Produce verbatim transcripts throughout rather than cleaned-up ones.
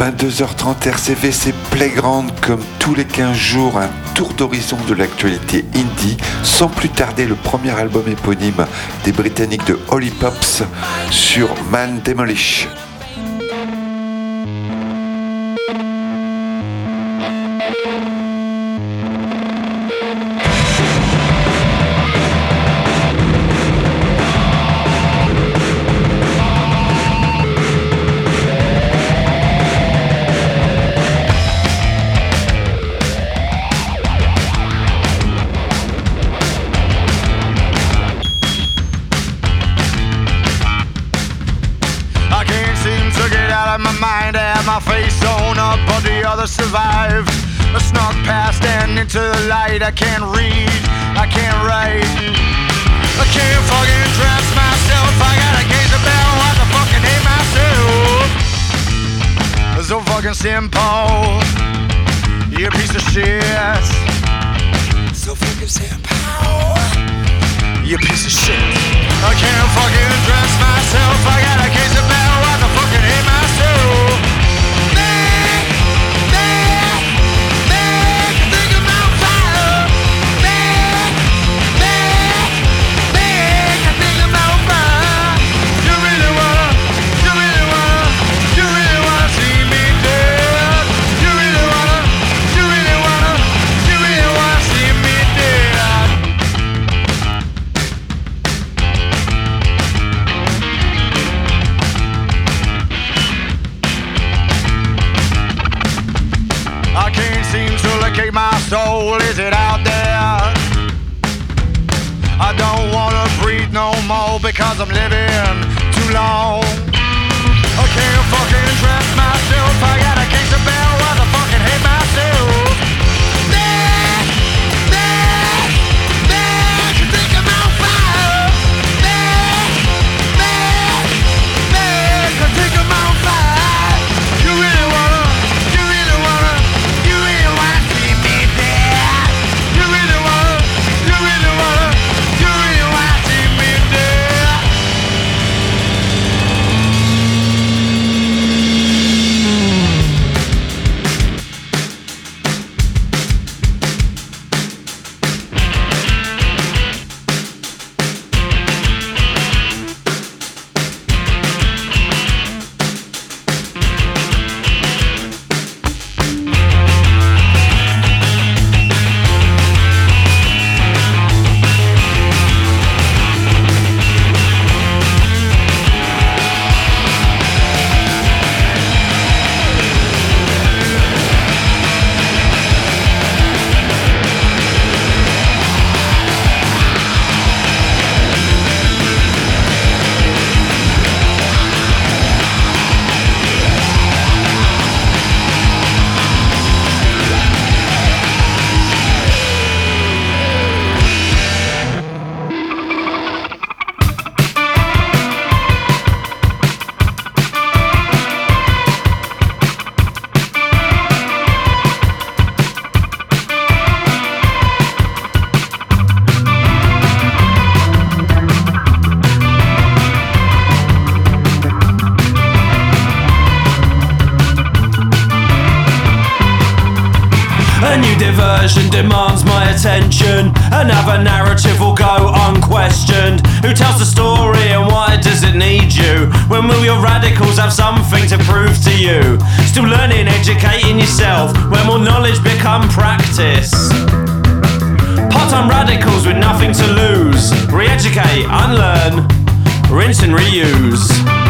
vingt-deux heures trente R C V, c'est Playground comme tous les quinze jours, un tour d'horizon de l'actualité indie, sans plus tarder le premier album éponyme des Britanniques de Holly Pops sur Man Demolish. Survived. I snuck past and into the light. I can't read, I can't write, I can't fucking dress myself. I gotta gaze about what the fucking hate myself. So fucking simple, you piece of shit. So fucking simple, you piece of shit. I can't fucking dress myself. I gotta gaze about what the fucking hate myself. My soul, is it out there? I don't wanna breathe no more because I'm living too long. I can't fucking dress myself. I got a case of bell while I fucking hate myself. Back, back, back, you think I'm on fire. Back, back, back, I think I'm on fire. You really wanna, you really wanna, you really wanna see me dead. You really wanna, you really wanna, you really wanna see me dead. Demands my attention. Another narrative will go unquestioned. Who tells the story and why does it need you? When will your radicals have something to prove to you? Still learning, educating yourself. When will knowledge become practice? Part-time radicals with nothing to lose. Re-educate, unlearn, rinse and reuse.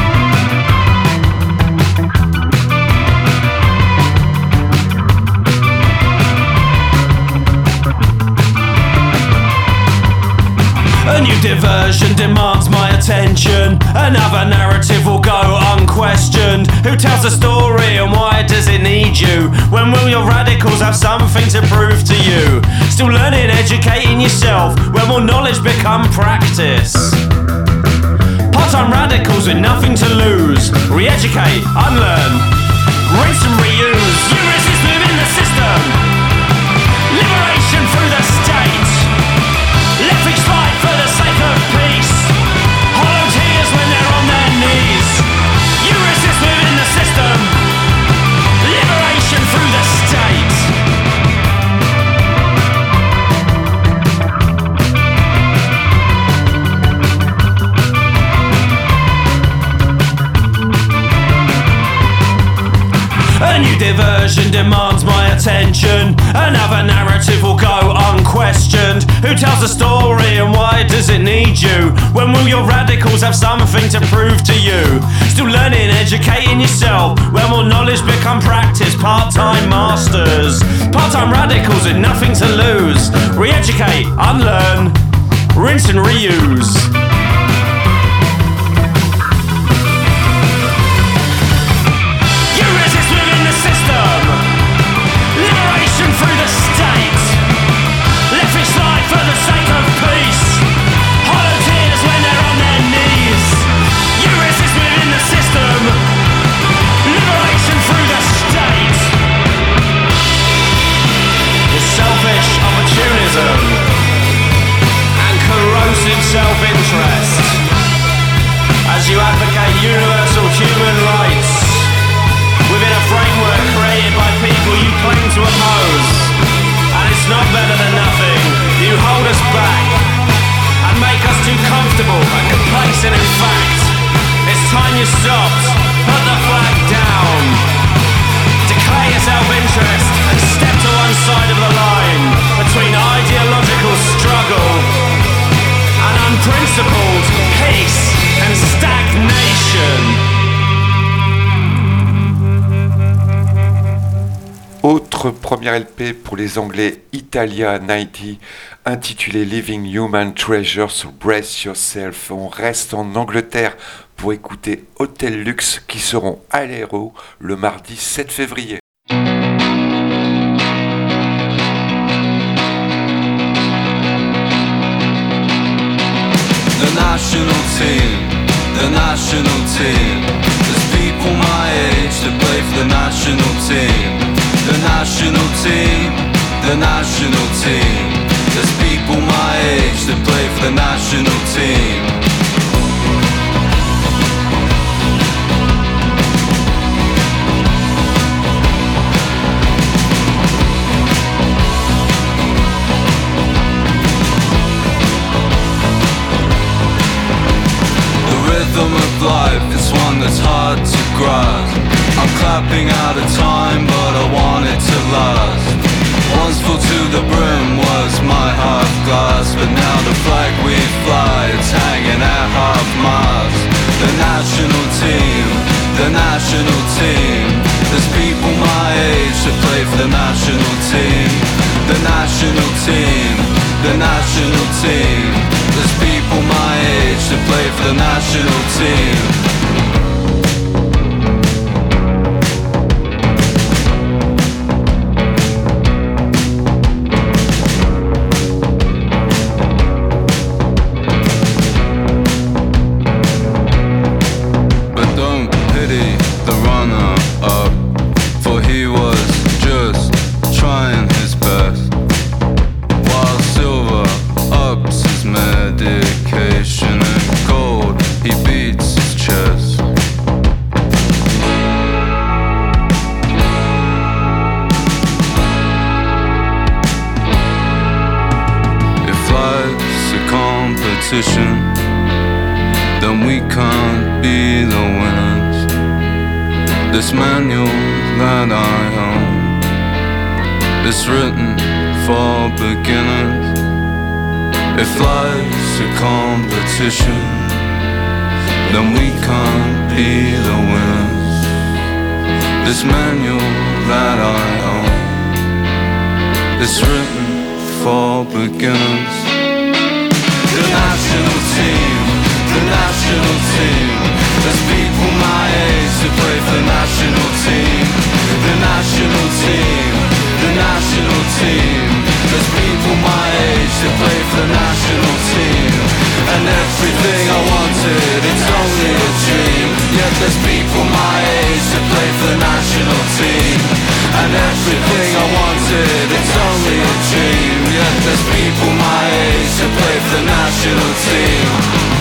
A new diversion demands my attention. Another narrative will go unquestioned. Who tells the story and why does it need you? When will your radicals have something to prove to you? Still learning, educating yourself. When will knowledge become practice? Part-time radicals with nothing to lose. Re-educate, unlearn, rinse and reuse. You resist within the system. Liberation through the state. Let things fight for the sake of peace. Hollow tears when they're on their knees. You resist within the system. diversion demands my attention. Another narrative will go unquestioned. Who tells the story and why does it need you? When will your radicals have something to prove to you? Still learning, educating yourself. When will knowledge become practice? Part-time masters, part-time radicals with nothing to lose. Re-educate, unlearn, rinse and reuse. Through the state, left it slide for the sake of peace. Hollow tears when they're on their knees. You resist within the system. Liberation through the state. It's selfish opportunism and corrosive self-interest as you advocate universal human rights within a framework created by people you claim to oppose. And it's not better than nothing. You hold us back and make us too comfortable and complacent. In fact, it's time you stopped. Put the flag down. Declare your self-interest and step to one side of the line between ideological struggle and unprincipled peace and stagnation. Autre premier L P pour les Anglais, Italia quatre-vingt-dix, intitulé Living Human Treasures, Brace Yourself. On reste en Angleterre pour écouter Hotel Luxe qui seront à l'Hérault le mardi sept février. The national team, the national team. There's people my age that play for the national team. The national team, the national team. There's people my age that play for the national team. The rhythm of life is one that's hard to grasp. I'm clapping out of time, but I want it to last. Once full to the brim was my half glass, but now the flag we fly, it's hanging at half mast. The national team, the national team. There's people my age that play for the national team. The national team, the national team. There's people my age that play for the national team. Then we can't be the winners. This manual that I own, it's written for beginners. If life's a competition, then we can't be the winners. This manual that I own, it's written for beginners. The national team, the national team. There's people my age that play for the national team. The national team, the national team. There's people my age that play for the national team. And everything I wanted, it's only a dream. Yet there's people my age that play for the national team. And everything I wanted, it's only a dream. Yet there's people my age that play for the national team.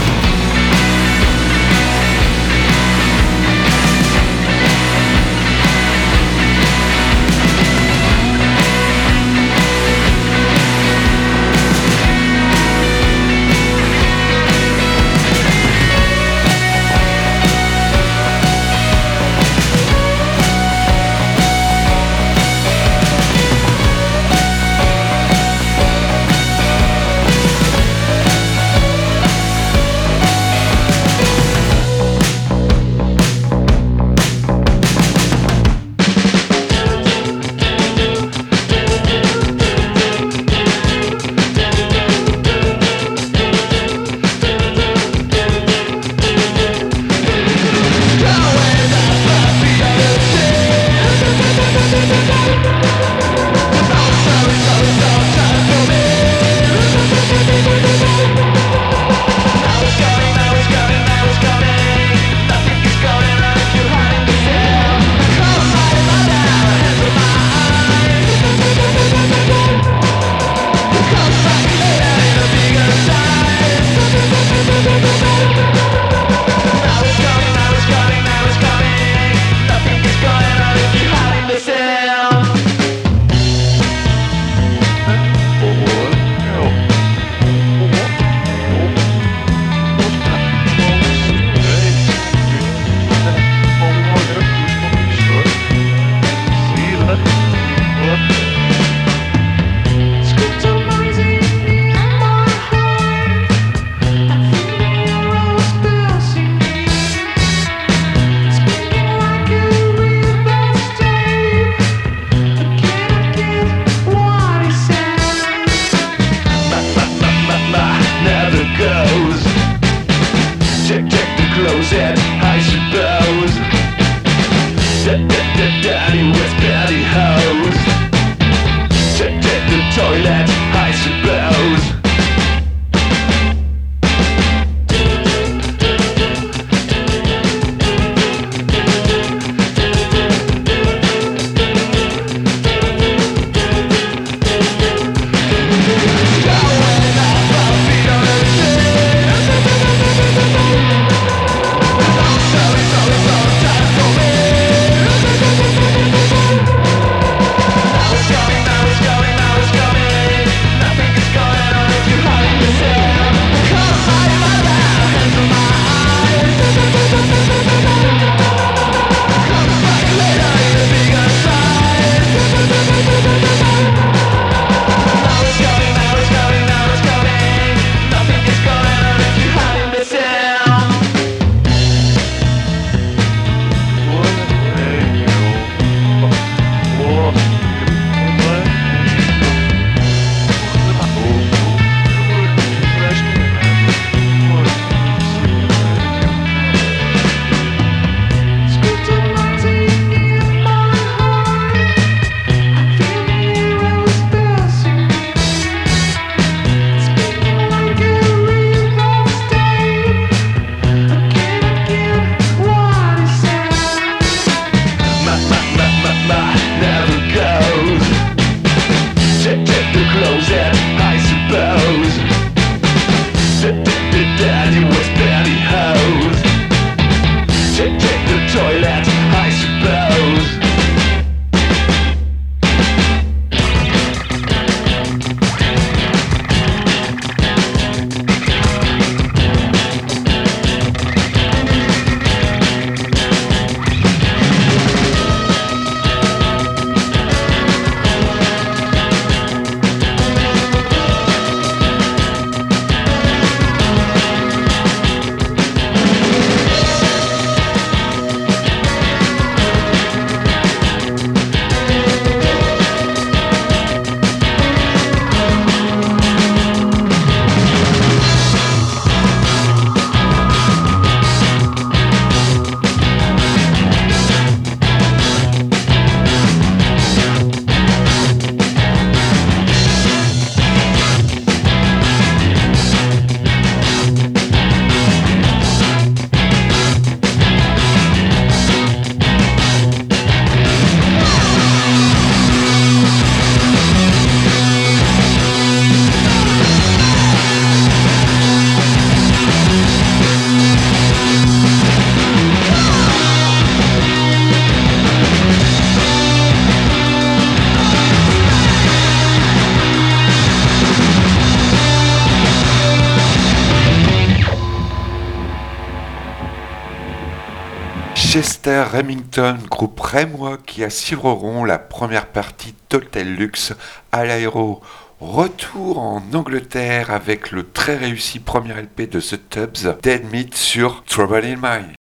Chester Remington, groupe rémois qui assureront la première partie d'Hotel Luxe à l'Aéro. Retour en Angleterre avec le très réussi premier L P de The Tubbs, Dead Meat sur Trouble in Mind.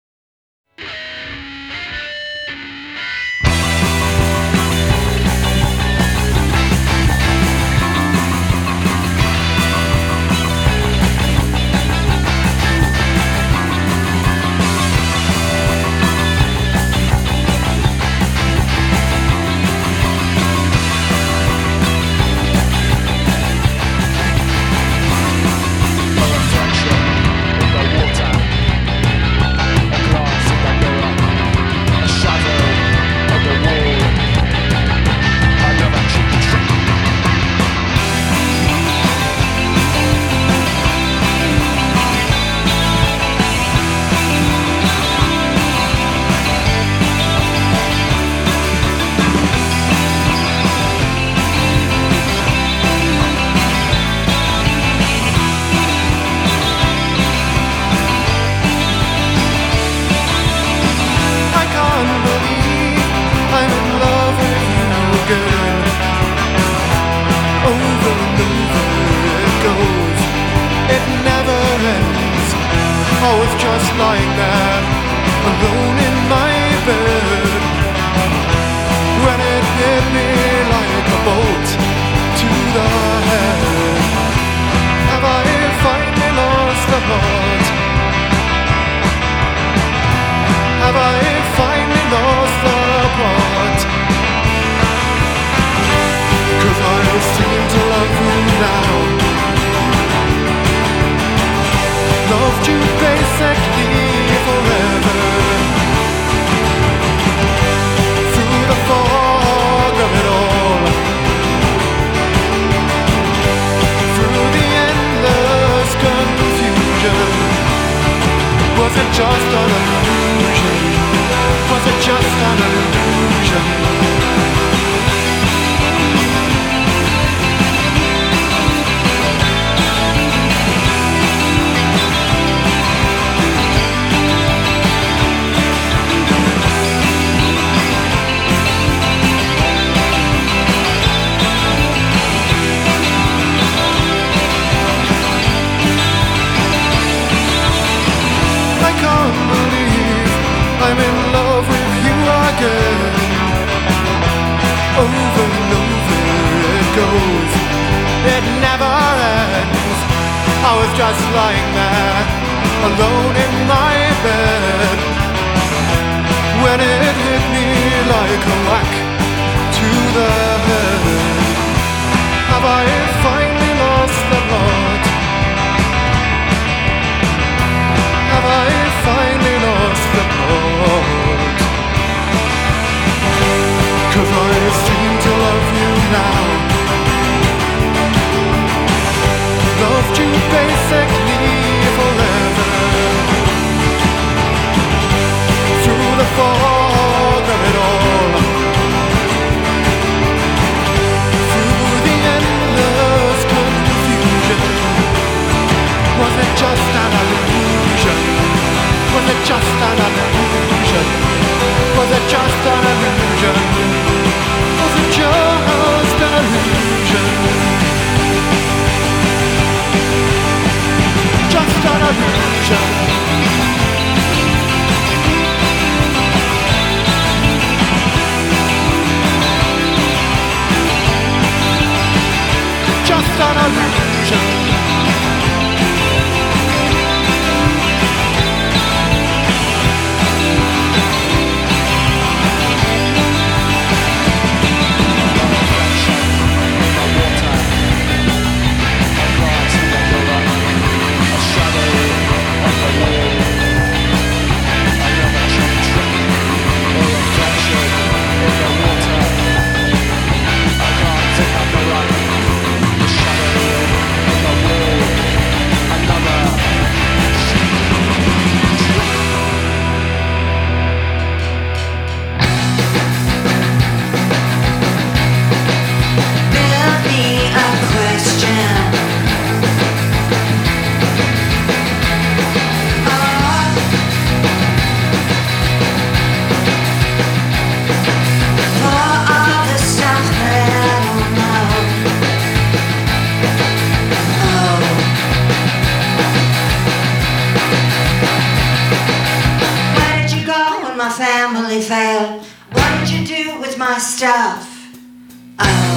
family failed. What did you do with my stuff? Oh.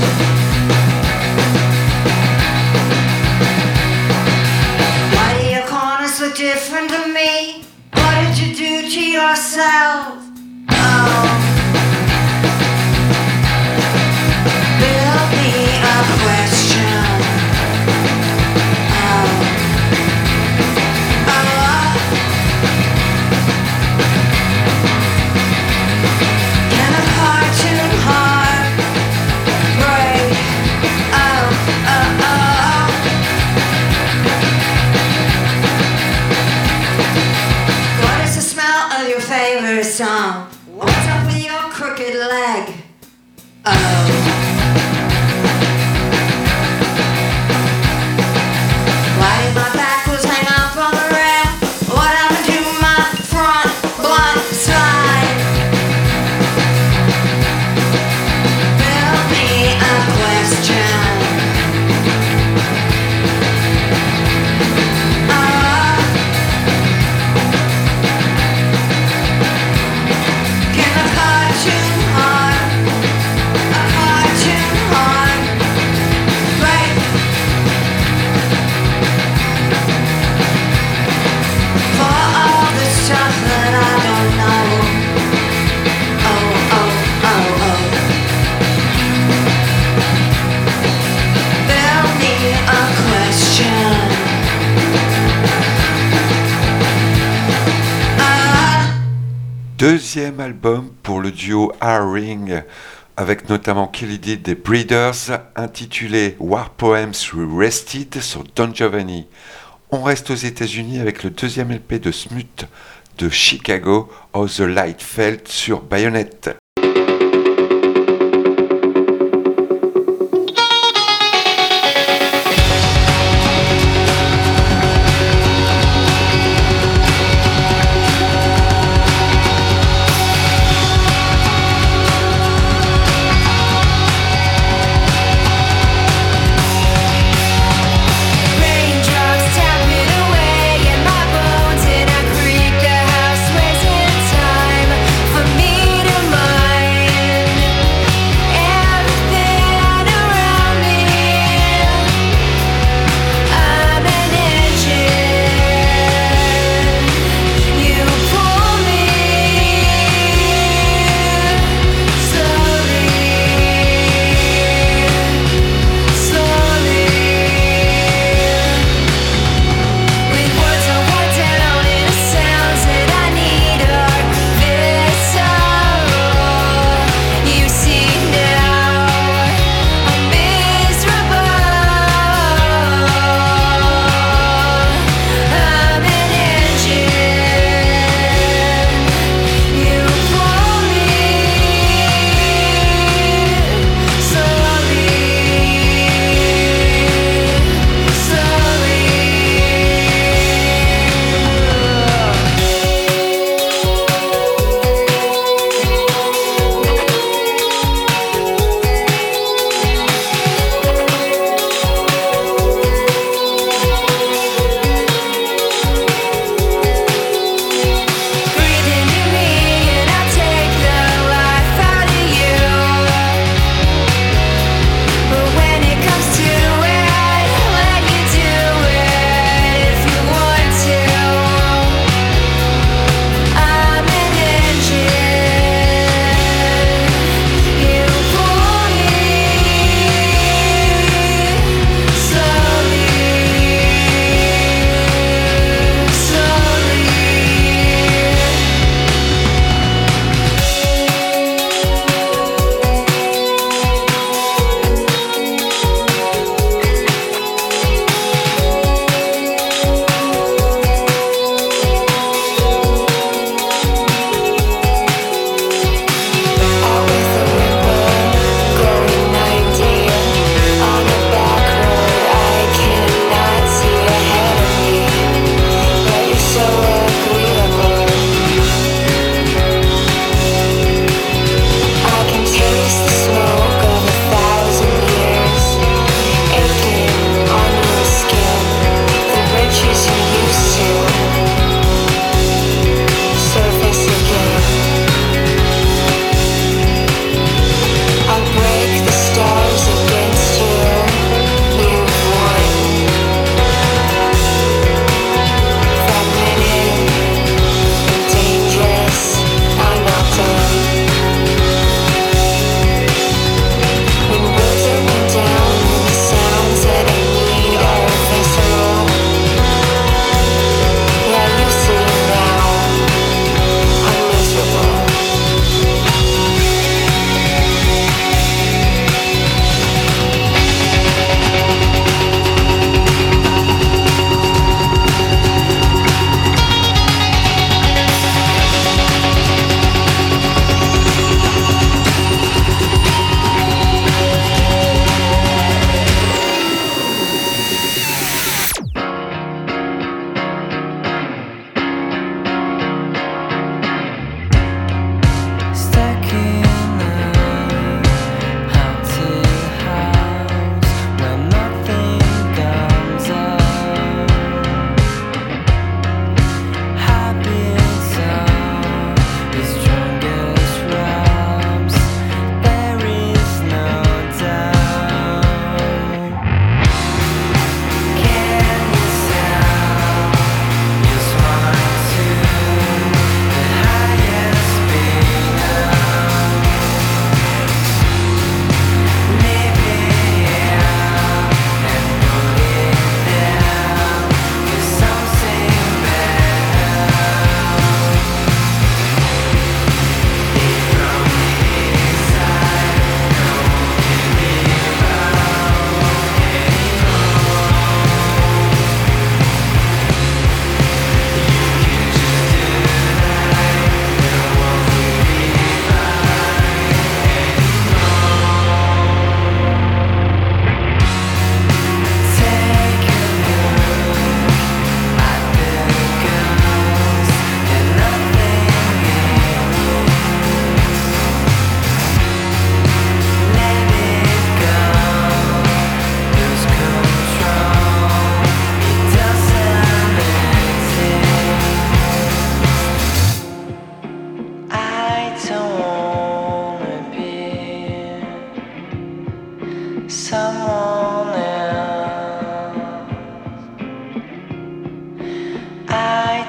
Why do your corners look different to me? What did you do to yourself? Oh. Build me a question. Oh. Oh. Can a cartoon heart break? Oh, oh, oh. What is the smell of your favorite song? What's up with your crooked leg? Oh. Why did my back was hang up on the rail? What happened to my front blunt slide? Build me a question. Uh, can a cartoon heart, a cartoon heart break? For all the stuff that I don't know. Oh, oh, oh, oh. Build me a question. Ah. Deuxième album pour le duo R-Ring, avec notamment Kelly Dee des Breeders, intitulé War Poems Rested sur Don Giovanni. On reste aux États-Unis avec le deuxième L P de Smut de Chicago, How the Light Felt sur Bayonet. Raindrops tapping away at my bones in a creek. The house sways in time for me to move.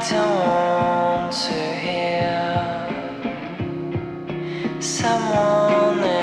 don't want to hear someone else.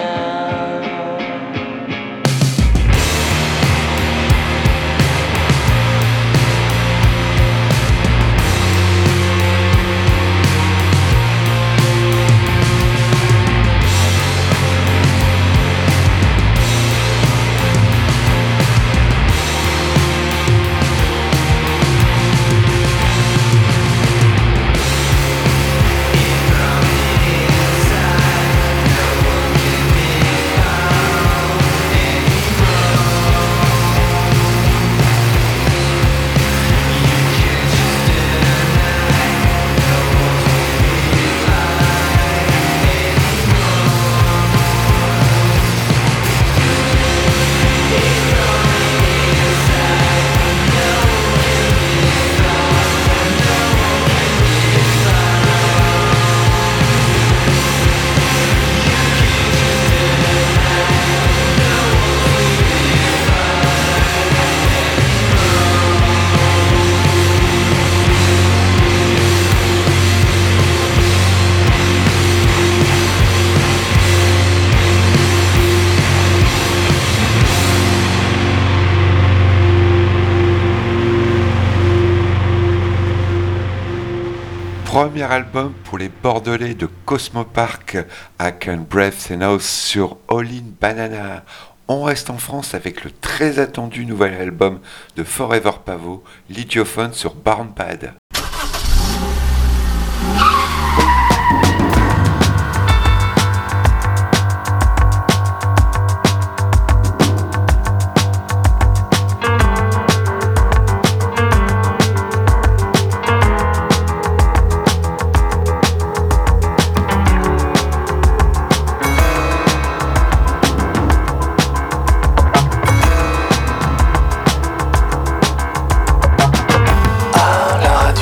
Premier album pour les Bordelais de Cosmopark, I Can Breathe and House sur All In Banana. On reste en France avec le très attendu nouvel album de Forever Pavot, L'Idiophone sur Barn Bad. À la radio.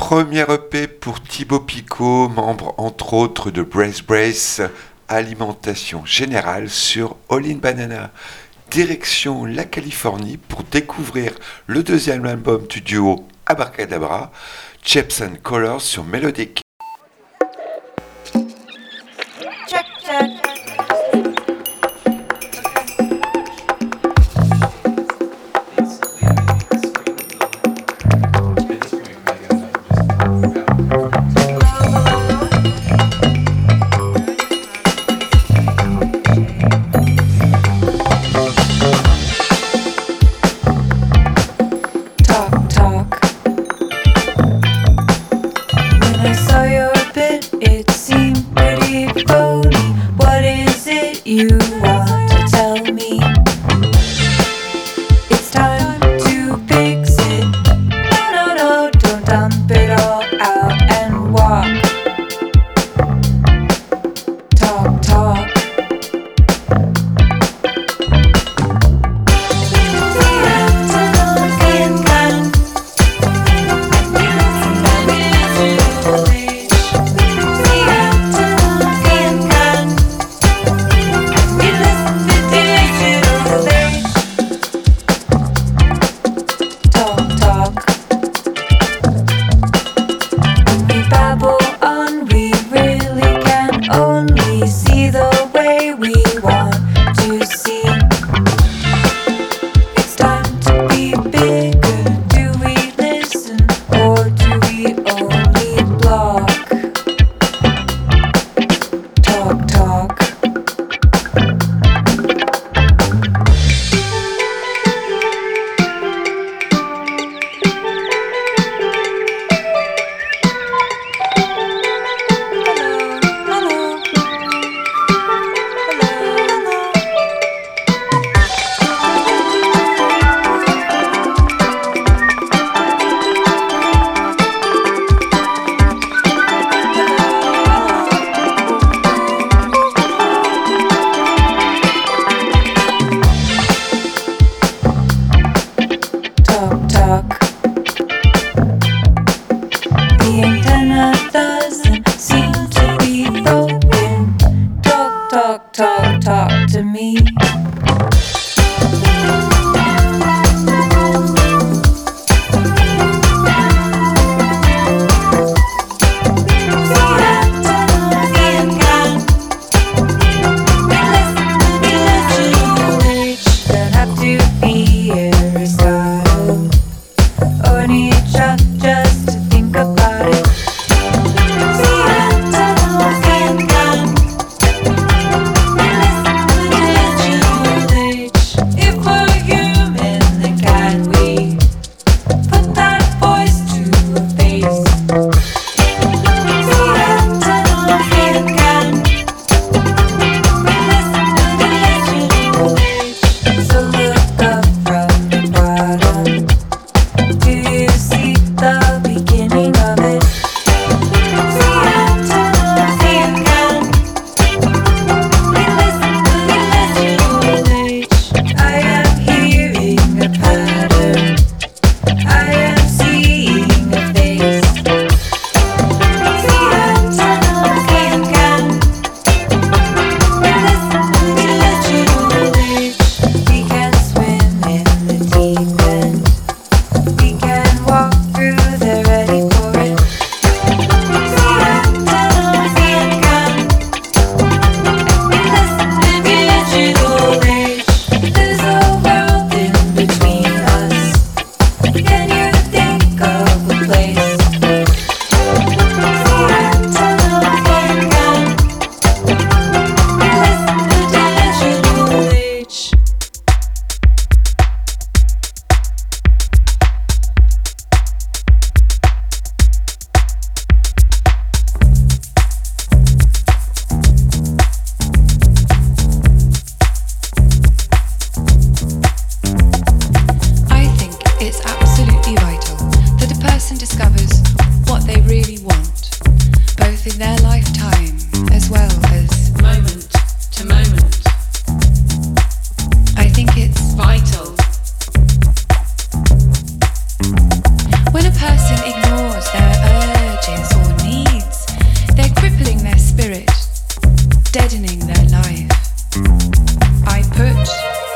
Premier E P pour Thibaut Picot, membre entre autres de Brace Brace, Alimentation Générale sur All in Banana. Direction la Californie pour découvrir le deuxième album du duo Abracadabra, Shapes and Colors sur Melodic. Check, check. Talk, talk. When I saw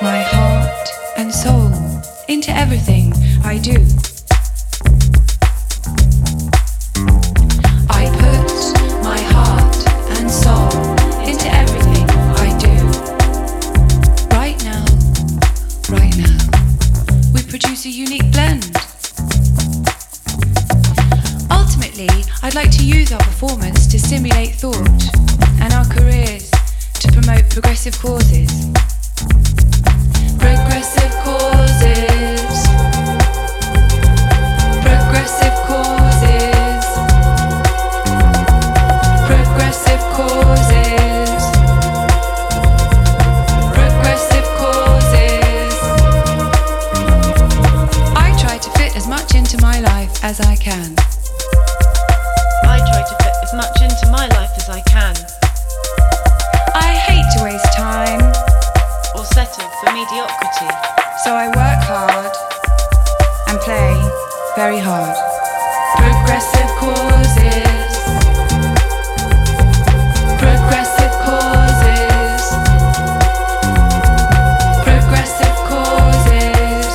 my heart and soul into everything I do. I put my heart and soul into everything I do. Right now, right now, we produce a unique blend. Ultimately, I'd like to use our performance to stimulate thought and our careers to promote progressive causes. Progressive causes. Progressive causes. Progressive causes. Progressive causes. I try to fit as much into my life as I can. I try to fit as much into my life as I can. I hate to waste time or settle for mediocrity. So I work hard and play very hard. Progressive causes. Progressive causes. Progressive causes.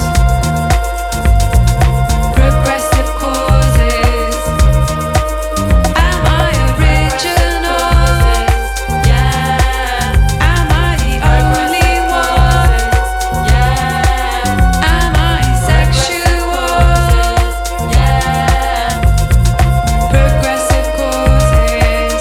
Progressive causes. Am I original? Yeah. Am I the only one? Yeah. Am I sexual? Yeah. Progressive causes.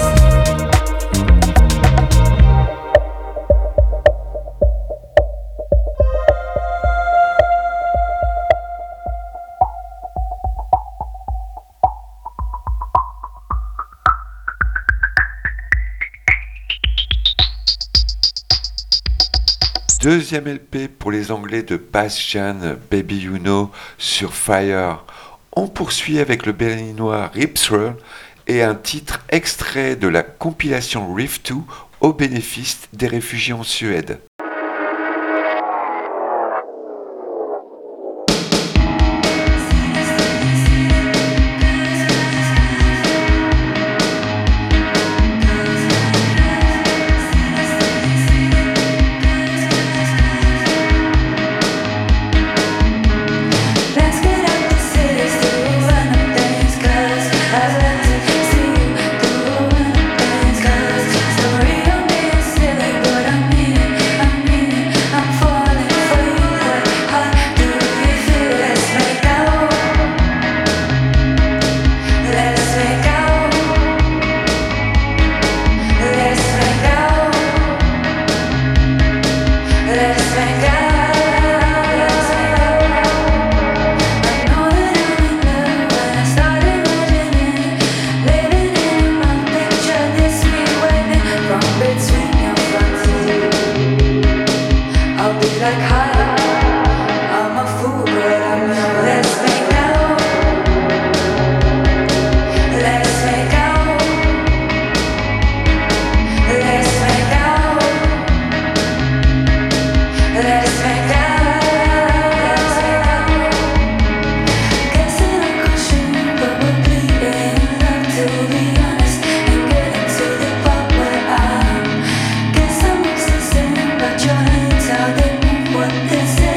Deuxième L P pour les Anglais de Bastian, Baby You Know sur Fire. On poursuit avec le berlinois Ripsröll et un titre extrait de la compilation Riff deux au bénéfice des réfugiés en Suède. Let's get out the cities to run up things, 'cause I love to see you doing things, 'cause sorry I'm being silly, but I mean it, I mean it, I'm falling for you, but how do you feel? Let's make out, let's make out, let's make out, let's make out. Like high, I'm a fool, but I'm young. Let's make out, let's make out, let's make out, let's make out. Guessing I'm crushing, but we're bleeding love, to be honest, and getting to the part where I guess I'm obsessing about your hands, how they what this is.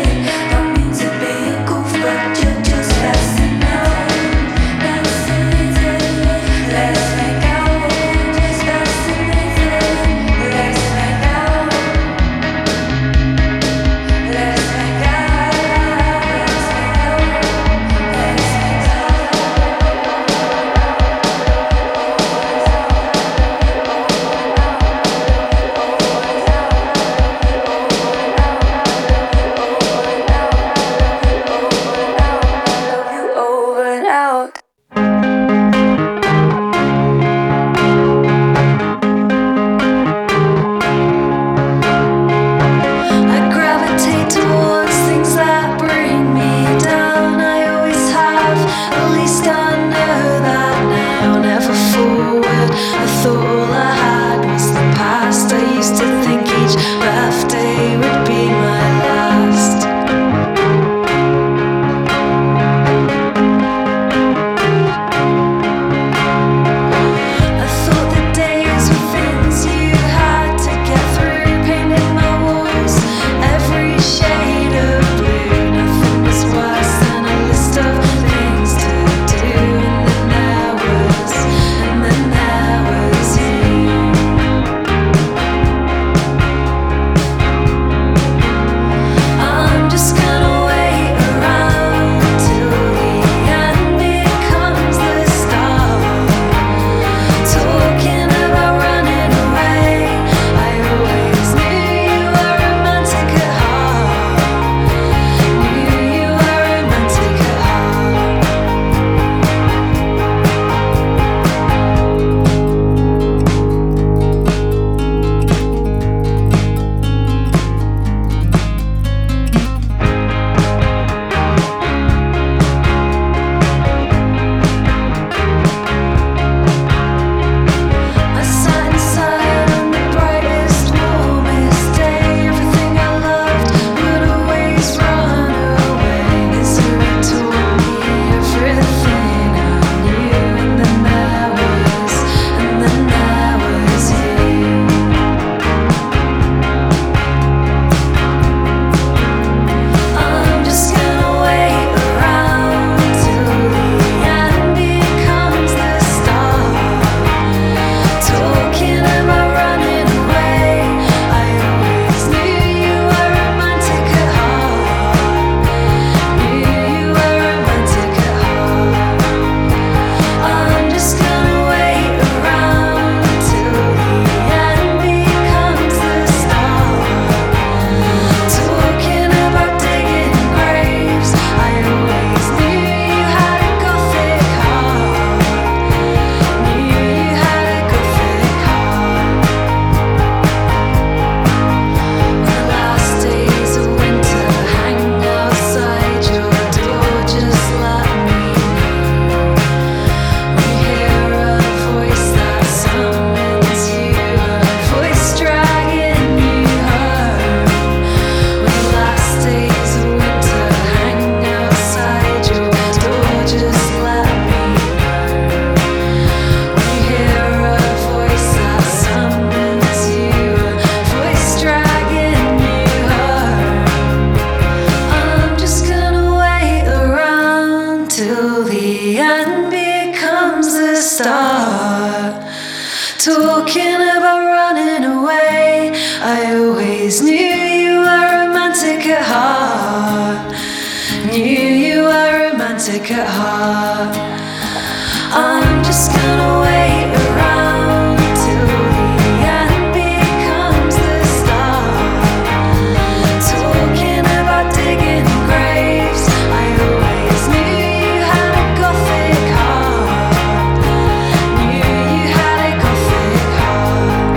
sick at heart. I'm just gonna wait around till the end becomes the start. Talking about digging graves, I always knew you had a gothic heart. Knew you had a gothic heart.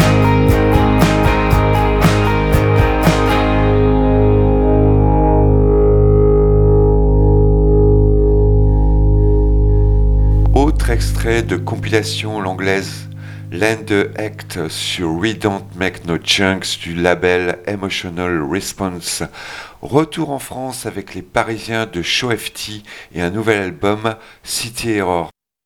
Autre extrait de compilation l'anglaise Land the Act sur We Don't Make No Chunks du label Emotional Response. Retour en France avec les Parisiens de Show F T et un nouvel album City Error.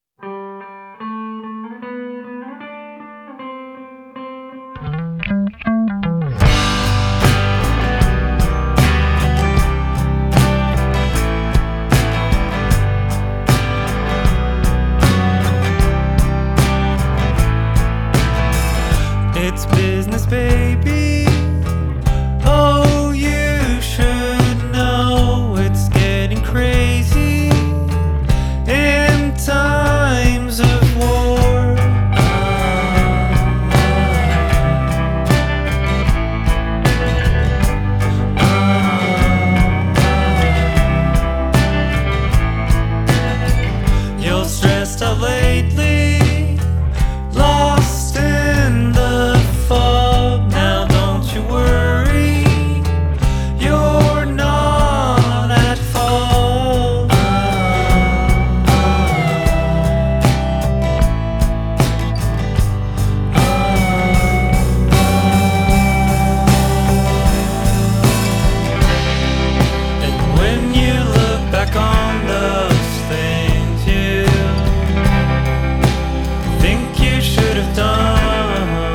It's business, baby. Oh, you should know it's getting crazy in times of war. You're stressed out lately, lost in the fog. Now don't you worry, you're not at fault. And when you look back on those things you think you should have done,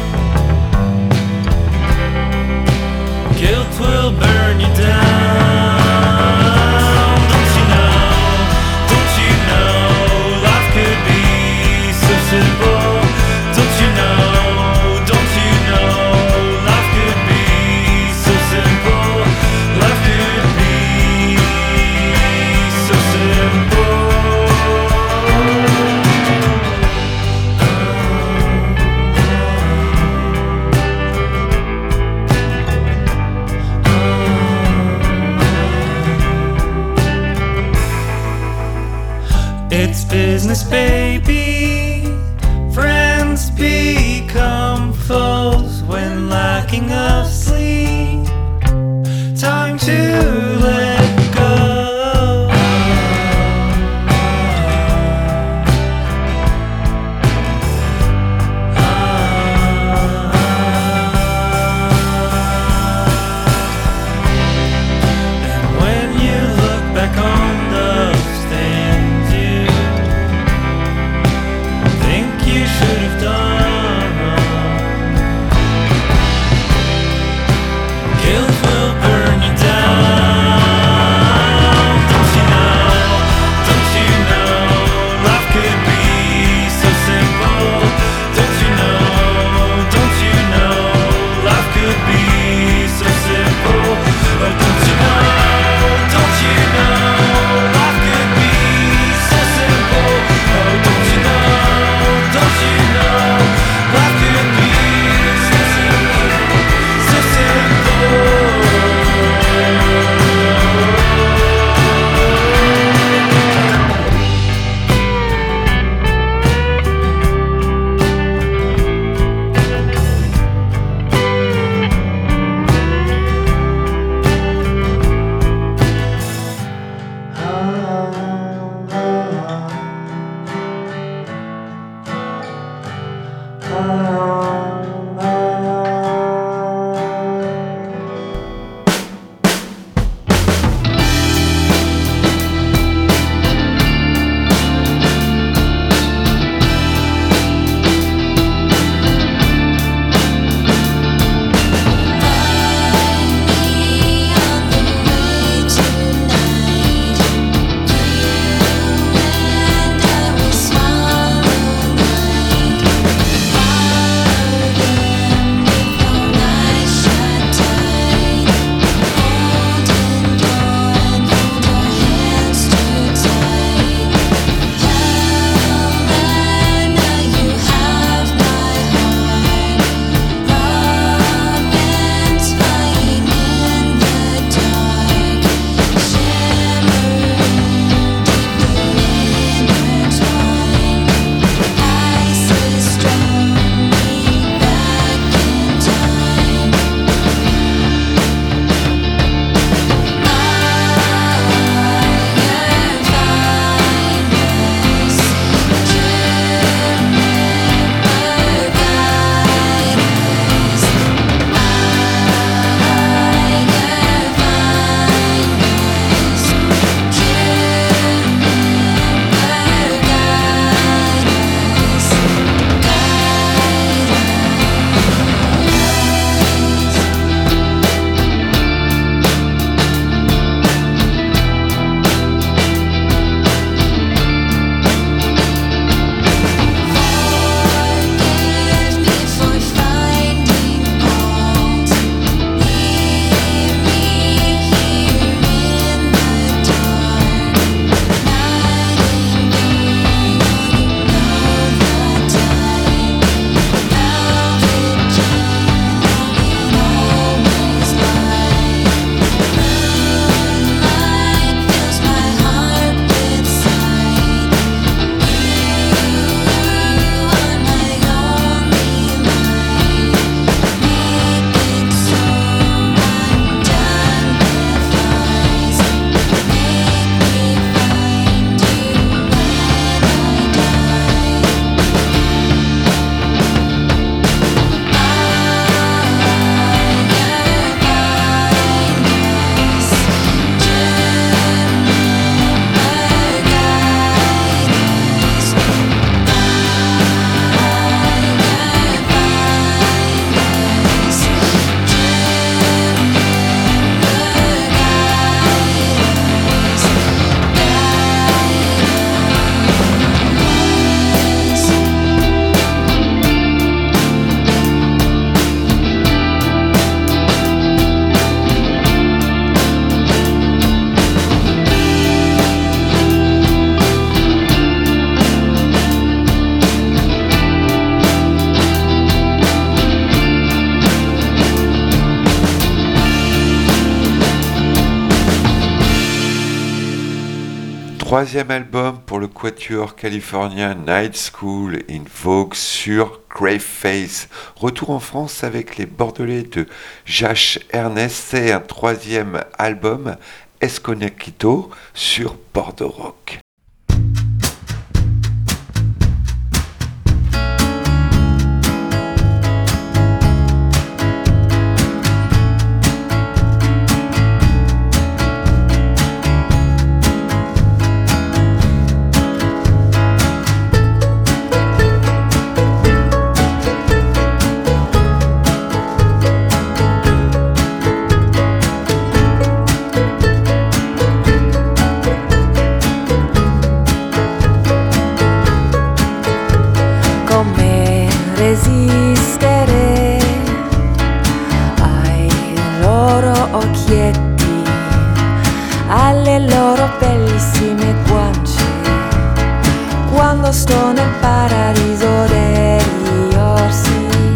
guilt will burn you down. Don't you know, don't you know, life could be so simple. Don't you know, don't you know, life could be so simple. Life could be so simple. It's business, baby. Friends become foes when lacking of sleep. Time to let go. And when you look back on those things you think you should have done, guilt will burn you down. Troisième album pour le quatuor californien Night School in Vogue sur Graveface. Retour en France avec les Bordelais de Josh Ernest et un troisième album Escondido sur Bordeaux Rock. Resistere ai loro occhietti, alle loro bellissime guance, quando sto nel paradiso degli orsi.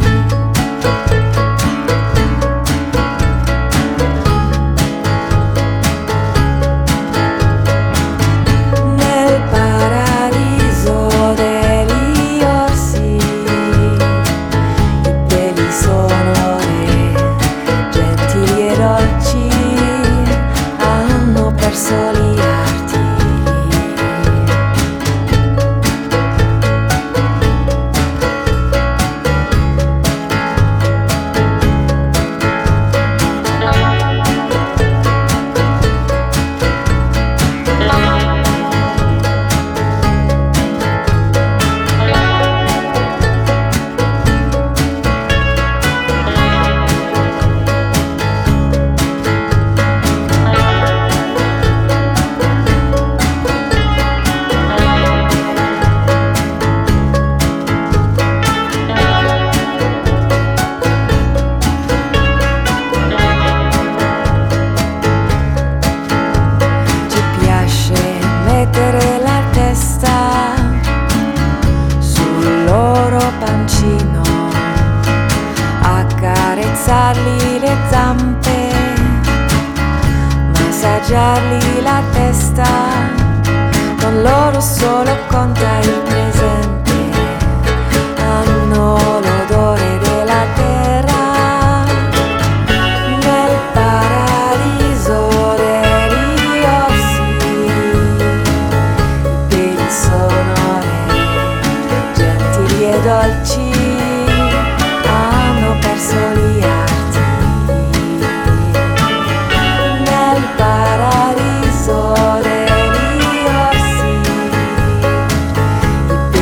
Nel paradiso degli orsi sono re, gentili e dolci, hanno perso gli arti. Accarezzargli le zampe, massaggiargli la testa, con loro solo conta il presente, hanno l'odore della terra, nel paradiso degli orsi, i piedi sono re, gentili e dolci, hanno perso gli arti. Nel paradiso degli orsi, i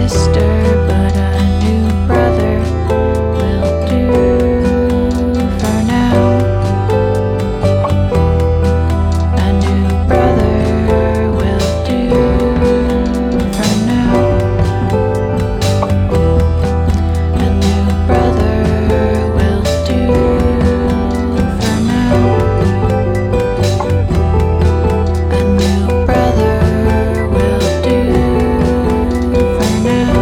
sister, but a new brother will do for now. A new brother will do for now. A new brother will do for now. A new brother will do for now.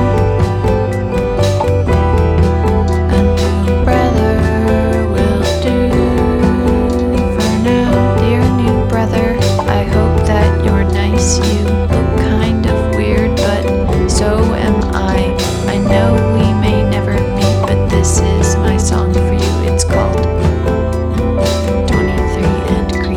A new brother will do for now. Dear new brother, I hope that you're nice. You look kind of weird, but so am I. I know we may never meet, but this is my song for you. It's called twenty-three and Creep.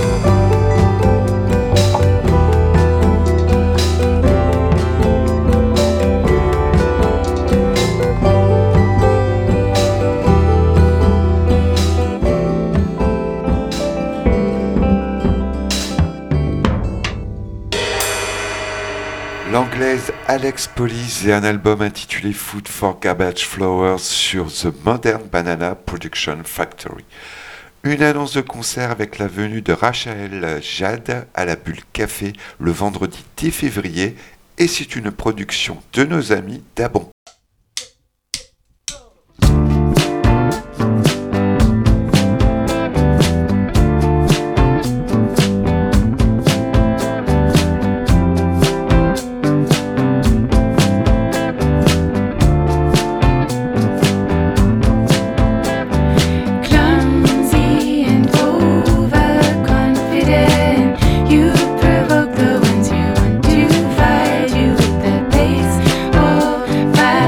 L'anglaise Alex Police et un album intitulé Food for Garbage Flowers sur The Modern Banana Production Factory. Une annonce de concert avec la venue de Rachel Jade à la Bulle Café le vendredi dix février et c'est une production de nos amis d'Abon. Clumsy and overconfident, you provoke the ones you want to fight you with the baseball bat.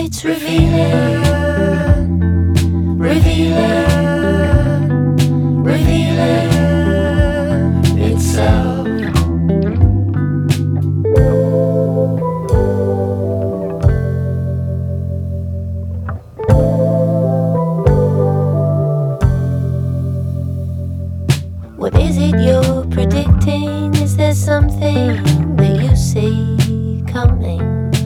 It's revealing, revealing, revealing itself. What is it you're predicting? Is there something that you see coming?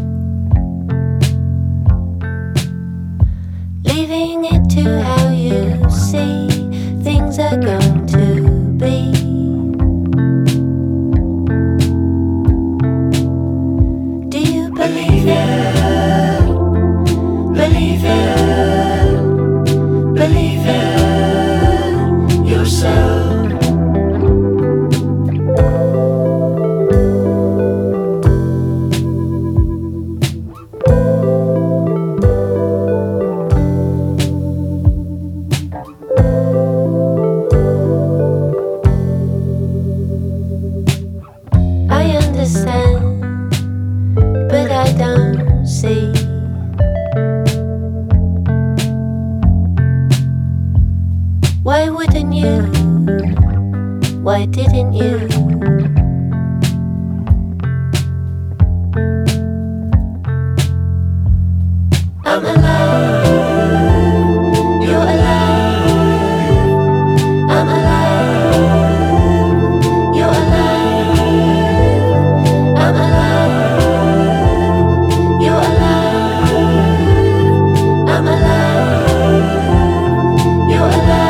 Leaving it to how you see things are going to be. Do you believe it? Believe it? Believe it yourself. Why wouldn't you? Why didn't you? I'm alive, you're alive, I'm alive, you're alive, I'm alive, you're alive, I'm alive, you're alive.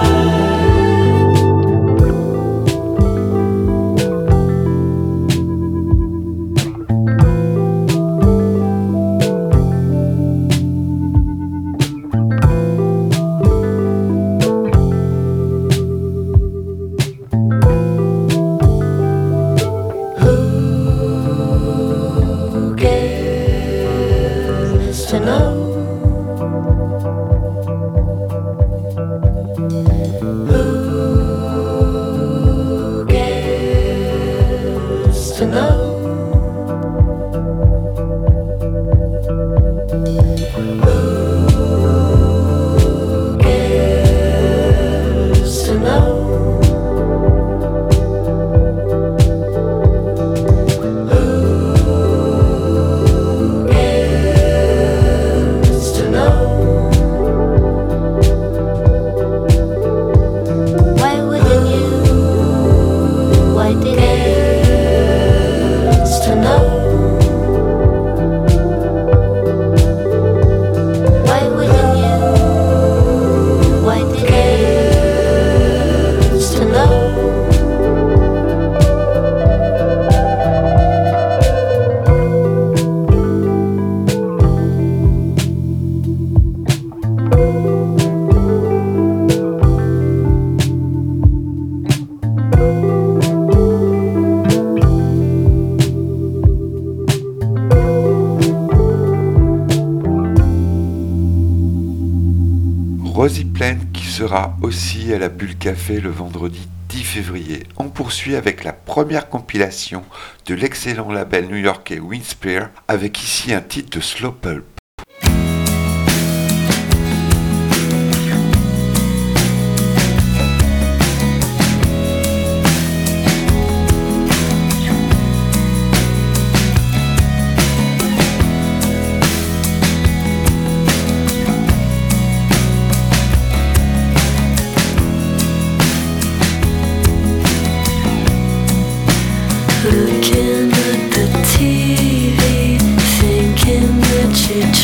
To know who gets to know who gets to know Rosie Plain qui sera aussi à la Bulle Café le vendredi dix février. On poursuit avec la première compilation de l'excellent label new-yorkais Windspear avec ici un titre de Slow Pulp. Looking at the T V, thinking that you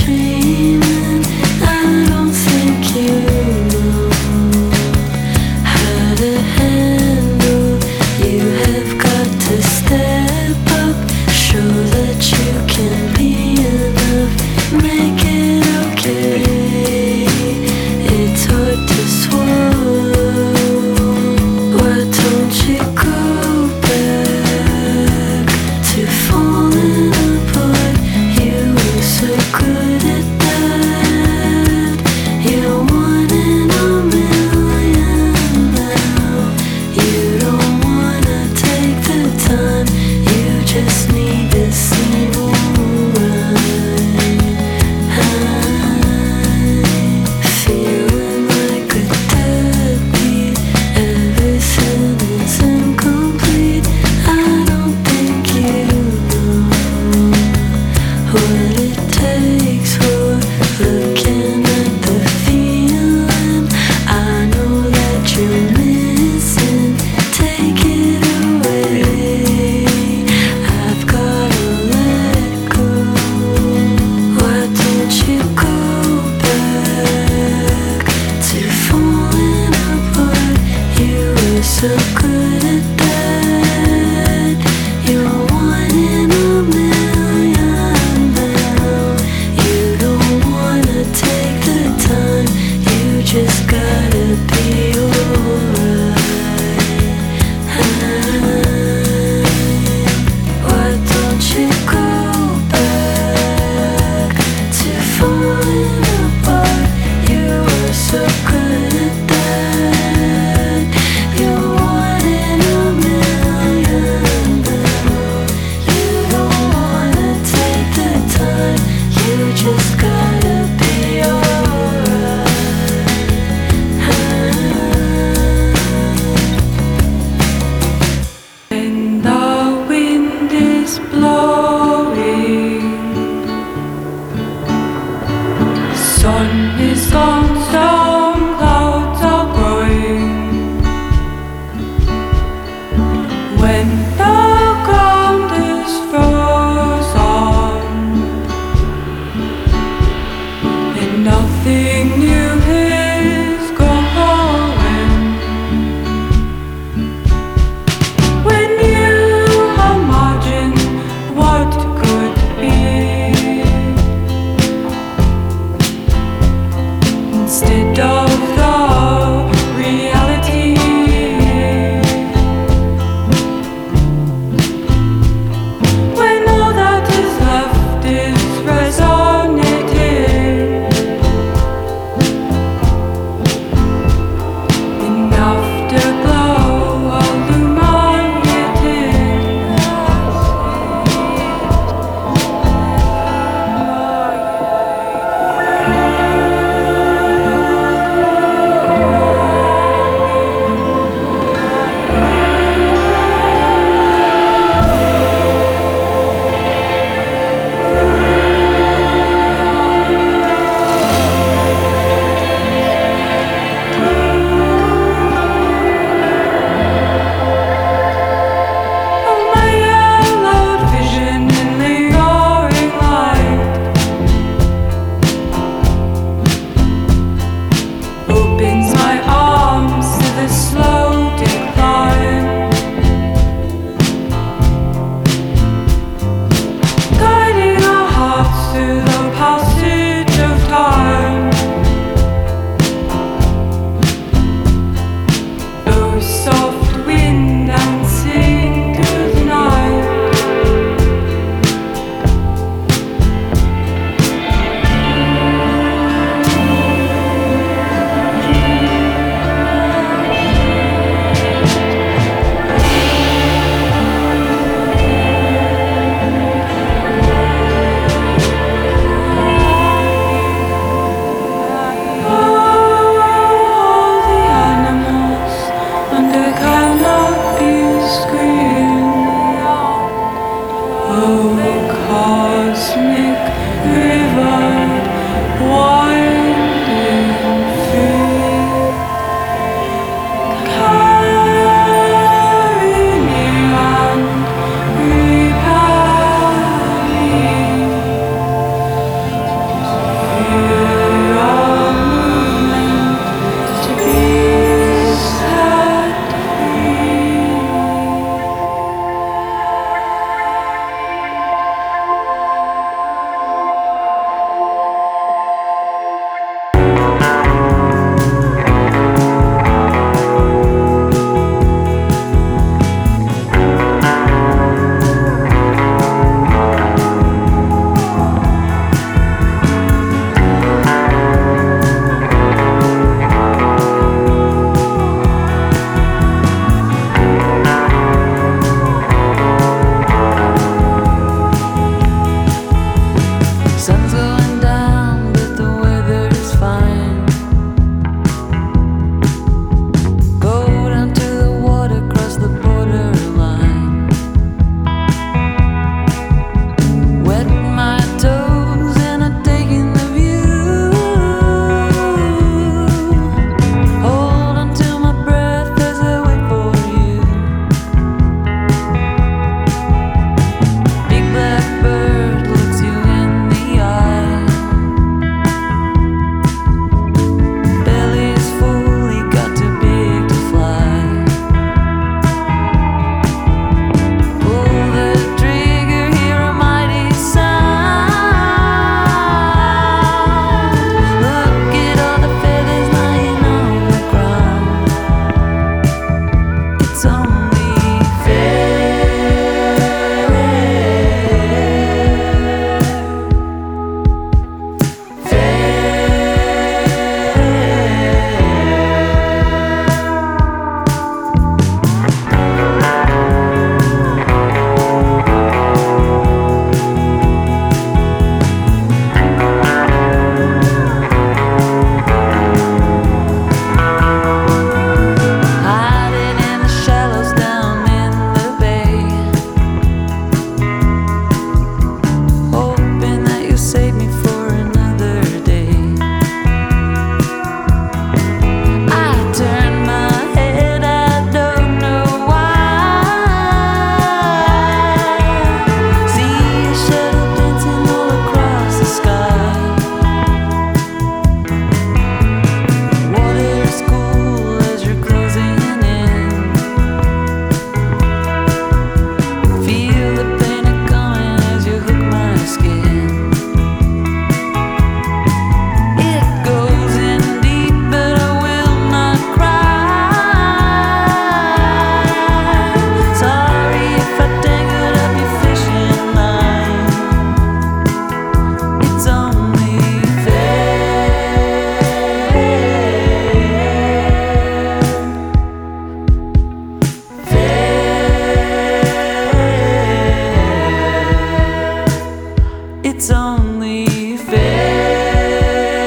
It's only fair.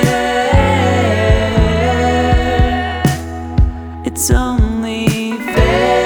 It's only fair.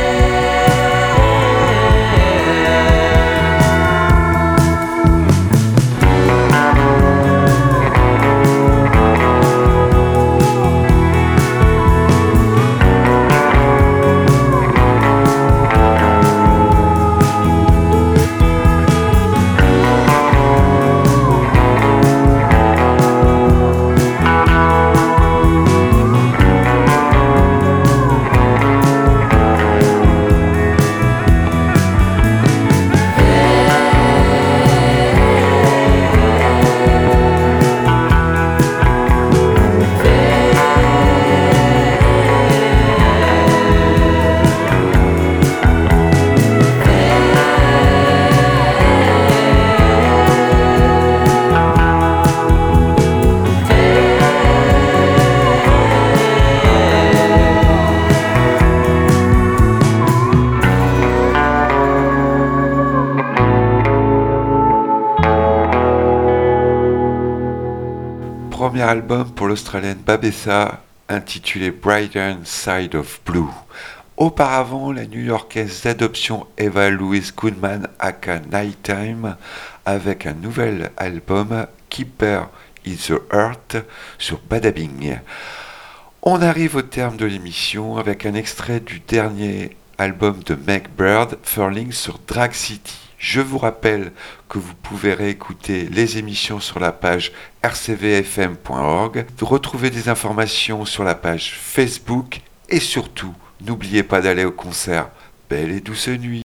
Premier album pour l'Australienne Babessa, intitulé Brighter Side of Blue. Auparavant, la new-yorkaise d'adoption Eva Louise Goodman aka Nighttime avec un nouvel album Keeper is the Heart sur Badabing. On arrive au terme de l'émission avec un extrait du dernier album de Meg Bird, Furling sur Drag City. Je vous rappelle que vous pouvez réécouter les émissions sur la page r c v f m point org, retrouver des informations sur la page Facebook et surtout, n'oubliez pas d'aller au concert. Belle et douce nuit.